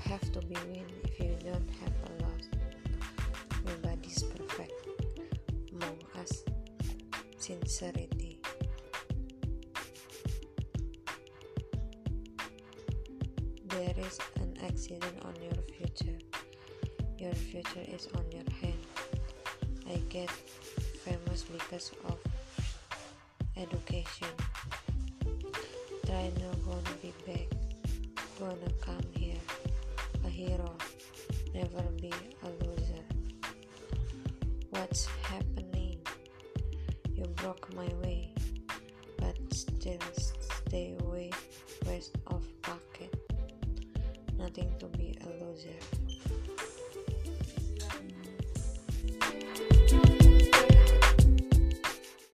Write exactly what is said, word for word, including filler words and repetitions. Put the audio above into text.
have to be win if you don't have a loss. Nobody's perfect. Among us, sincerity. There is an accident on your future. Your future is on your hand. I get famous because of education. Try not gonna be back. Gonna come here. A hero. Never be a loser. What's happening? You broke my way, but still stay away west of pocket. Nothing to be a loser.